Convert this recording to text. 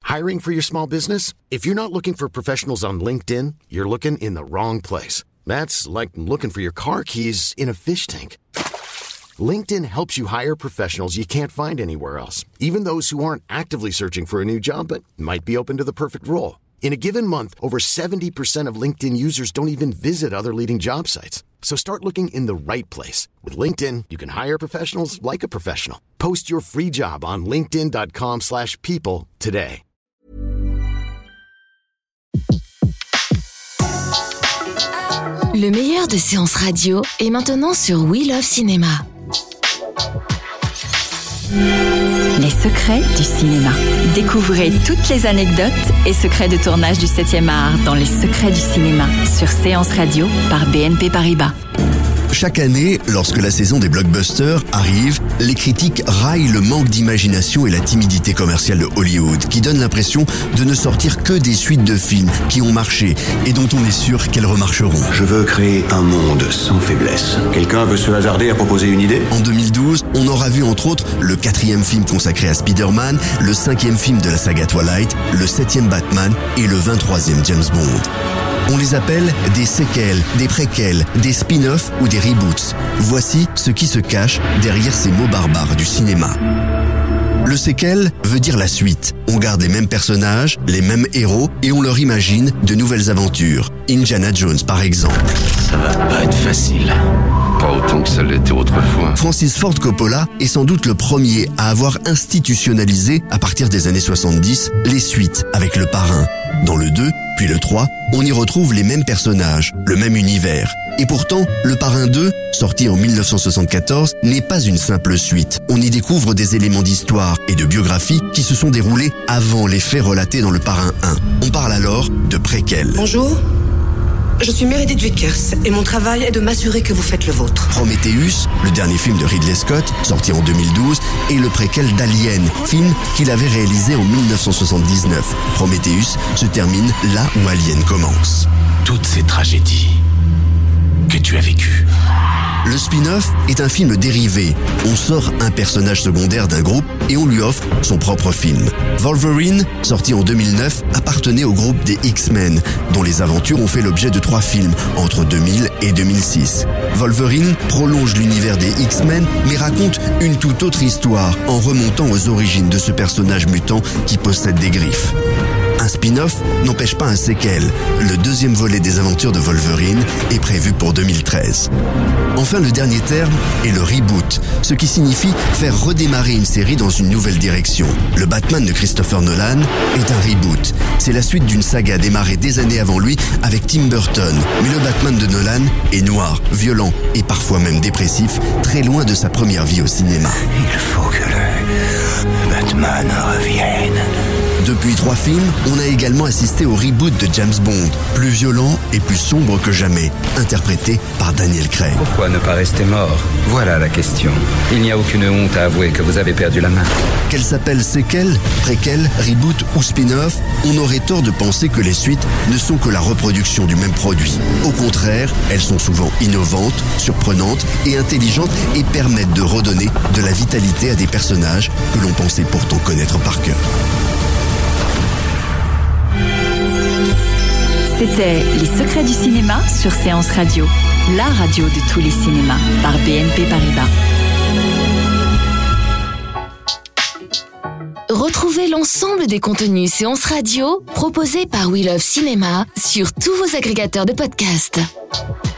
Hiring for your small business? If you're not looking for professionals on LinkedIn, you're looking in the wrong place. That's like looking for your car keys in a fish tank. LinkedIn helps you hire professionals you can't find anywhere else, even those who aren't actively searching for a new job but might be open to the perfect role. In a given month, over 70% of LinkedIn users don't even visit other leading job sites. So start looking in the right place. With LinkedIn, you can hire professionals like a professional. Post your free job on linkedin.com/people today. Le meilleur de séances radio est maintenant sur We Love Cinéma. Les secrets du cinéma. Découvrez toutes les anecdotes et secrets de tournage du 7e art dans Les secrets du cinéma sur Séance Radio par BNP Paribas. Chaque année, lorsque la saison des blockbusters arrive, les critiques raillent le manque d'imagination et la timidité commerciale de Hollywood, qui donne l'impression de ne sortir que des suites de films qui ont marché et dont on est sûr qu'elles remarcheront. Je veux créer un monde sans faiblesse. Quelqu'un veut se hasarder à proposer une idée ? En 2012, on aura vu entre autres le 4e film consacré à Spider-Man, le 5e film de la saga Twilight, le 7e Batman et le 23e James Bond. On les appelle des séquelles, des préquels, des spin-offs ou des reboots. Voici ce qui se cache derrière ces mots barbares du cinéma. Le séquel veut dire la suite. On garde les mêmes personnages, les mêmes héros et on leur imagine de nouvelles aventures. Indiana Jones par exemple. Ça va pas être facile. Pas autant que ça l'était autrefois. Francis Ford Coppola est sans doute le premier à avoir institutionnalisé, à partir des années 70, les suites avec Le Parrain. Dans le 2, puis le 3, on y retrouve les mêmes personnages, le même univers. Et pourtant, Le Parrain 2, sorti en 1974, n'est pas une simple suite. On y découvre des éléments d'histoire et de biographie qui se sont déroulés avant les faits relatés dans Le Parrain 1. On parle alors de préquels. Bonjour, je suis Meredith Vickers et mon travail est de m'assurer que vous faites le vôtre. Prometheus, le dernier film de Ridley Scott, sorti en 2012, est le préquel d'Alien, film qu'il avait réalisé en 1979. Prometheus se termine là où Alien commence. Toutes ces tragédies que tu as vécues. Le spin-off est un film dérivé. On sort un personnage secondaire d'un groupe et on lui offre son propre film. Wolverine, sorti en 2009, appartenait au groupe des X-Men, dont les aventures ont fait l'objet de 3 films entre 2000 et 2006. Wolverine prolonge l'univers des X-Men, mais raconte une toute autre histoire en remontant aux origines de ce personnage mutant qui possède des griffes. Un spin-off n'empêche pas un séquel. Le 2e volet des aventures de Wolverine est prévu pour 2013. Enfin, le dernier terme est le reboot, ce qui signifie faire redémarrer une série dans une nouvelle direction. Le Batman de Christopher Nolan est un reboot. C'est la suite d'une saga démarrée des années avant lui avec Tim Burton. Mais le Batman de Nolan est noir, violent et parfois même dépressif, très loin de sa première vie au cinéma. Il faut que le Batman revienne. Depuis 3 films, on a également assisté au reboot de James Bond, plus violent et plus sombre que jamais, interprété par Daniel Craig. Pourquoi ne pas rester mort ? Voilà la question. Il n'y a aucune honte à avouer que vous avez perdu la main. Qu'elles s'appellent séquelles, préquelles, reboot ou spin-off, on aurait tort de penser que les suites ne sont que la reproduction du même produit. Au contraire, elles sont souvent innovantes, surprenantes et intelligentes et permettent de redonner de la vitalité à des personnages que l'on pensait pourtant connaître par cœur. C'était Les secrets du cinéma sur Séance Radio, la radio de tous les cinémas par BNP Paribas. Retrouvez l'ensemble des contenus Séance Radio proposés par We Love Cinéma sur tous vos agrégateurs de podcasts.